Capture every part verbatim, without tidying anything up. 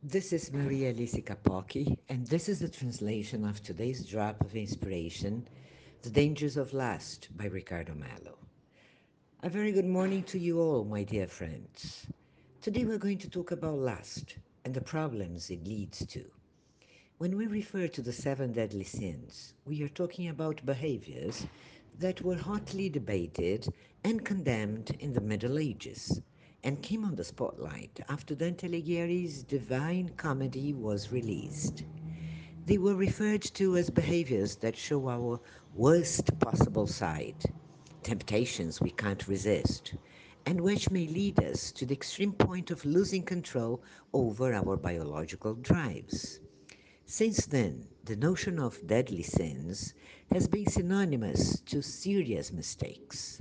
This is Maria Elise Capocchi, and this is the translation of today's drop of inspiration, The Dangers of Lust by Ricardo Mallo. A very good morning to you all, my dear friends. Today we're going to talk about lust and the problems it leads to. When we refer to the seven deadly sins, we are talking about behaviors that were hotly debated and condemned in the Middle Ages and came on the spotlight after Dante Alighieri's Divine Comedy was released. They were referred to as behaviors that show our worst possible side, temptations we can't resist, and which may lead us to the extreme point of losing control over our biological drives. Since then, the notion of deadly sins has been synonymous to serious mistakes.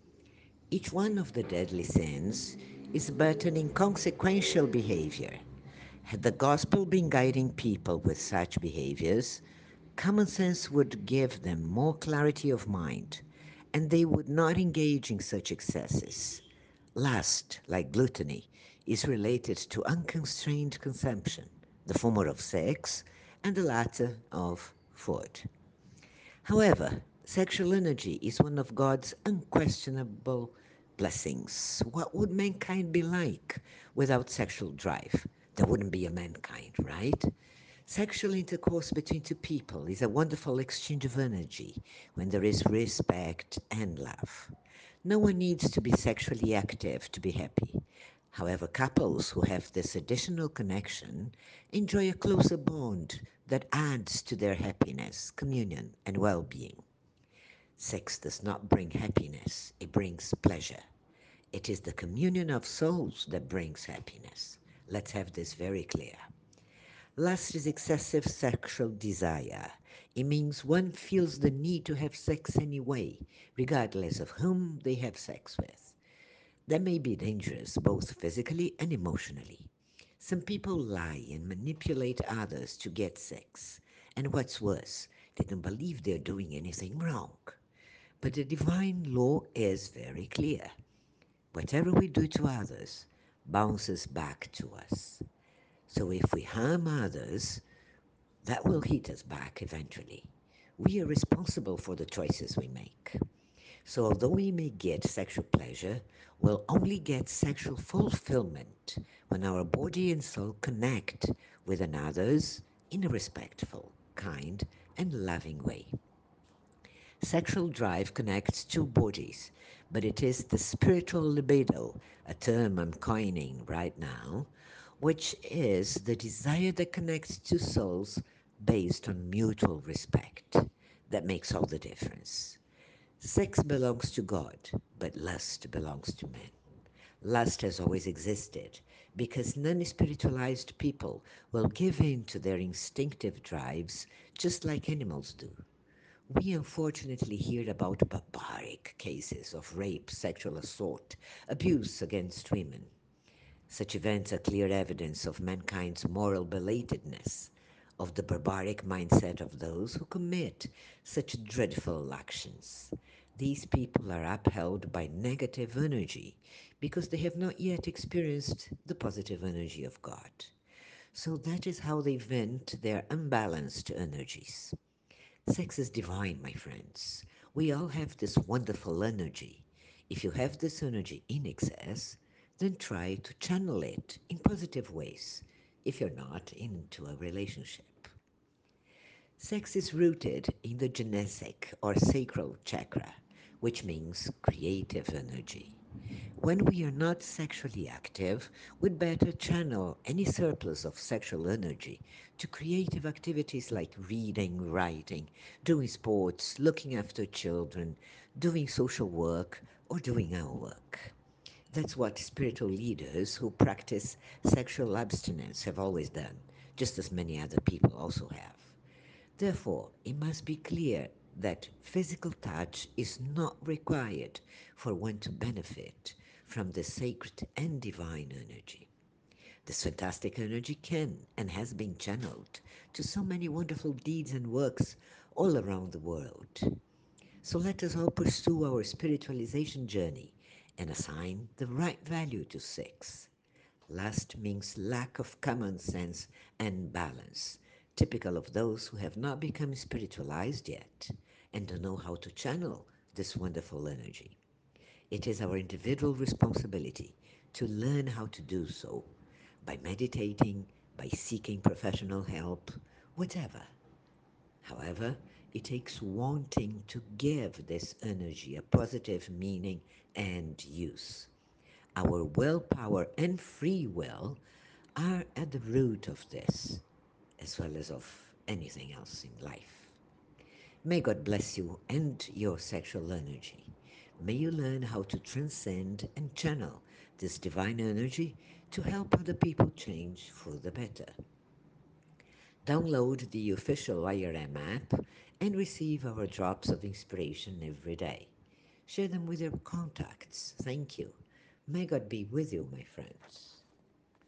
Each one of the deadly sins is but an inconsequential behavior. Had the gospel been guiding people with such behaviors, common sense would give them more clarity of mind, and they would not engage in such excesses. Lust, like gluttony, is related to unconstrained consumption, the former of sex and the latter of food. However, sexual energy is one of God's unquestionable blessings. What would mankind be like without sexual drive? There wouldn't be a mankind, right? Sexual intercourse between two people is a wonderful exchange of energy when there is respect and love. No one needs to be sexually active to be happy. However, couples who have this additional connection enjoy a closer bond that adds to their happiness, communion, and well being. Sex does not bring happiness, it brings pleasure. It is the communion of souls that brings happiness. Let's have this very clear. Lust is excessive sexual desire. It means one feels the need to have sex anyway, regardless of whom they have sex with. That may be dangerous both physically and emotionally. Some people lie and manipulate others to get sex, and what's worse, they don't believe they're doing anything wrong. But the divine law is very clear. Whatever we do to others bounces back to us. So if we harm others, that will hit us back eventually. We are responsible for the choices we make. So, although we may get sexual pleasure, we'll only get sexual fulfillment when our body and soul connect with another's in a respectful, kind, and loving way. Sexual drive connects two bodies, but it is the spiritual libido, a term I'm coining right now, which is the desire that connects two souls based on mutual respect. That makes all the difference. Sex belongs to God, but lust belongs to man. Lust has always existed because non spiritualized people will give in to their instinctive drives just like animals do. We unfortunately hear about barbaric cases of rape, sexual assault, abuse against women. Such events are clear evidence of mankind's moral belatedness, of the barbaric mindset of those who commit such dreadful actions. These people are upheld by negative energy because they have not yet experienced the positive energy of God. So that is how they vent their unbalanced energies. Sex is divine, my friends. We all have this wonderful energy. If you have this energy in excess, then try to channel it in positive ways if you're not into a relationship. Sex is rooted in the Genesic or sacral chakra, which means creative energy. When we are not sexually active, we'd better channel any surplus of sexual energy to creative activities like reading, writing, doing sports, looking after children, doing social work, or doing our work. That's what spiritual leaders who practice sexual abstinence have always done, just as many other people also have. Therefore, it must be clear that physical touch is not required for one to benefit from the sacred and divine energy. This fantastic energy can and has been channeled to so many wonderful deeds and works all around the world. So let us all pursue our spiritualization journey and assign the right value to sex. Lust means lack of common sense and balance, typical of those who have not become spiritualized yet and don't know how to channel this wonderful energy. It is our individual responsibility to learn how to do so by meditating, by seeking professional help, whatever. However, it takes wanting to give this energy a positive meaning and use. Our willpower and free will are at the root of this, as well as of anything else in life. May God bless you and your sexual energy. May you learn how to transcend and channel this divine energy to help other people change for the better. Download the official I R M app and receive our drops of inspiration every day. Share them with your contacts. Thank you. May God be with you, my friends.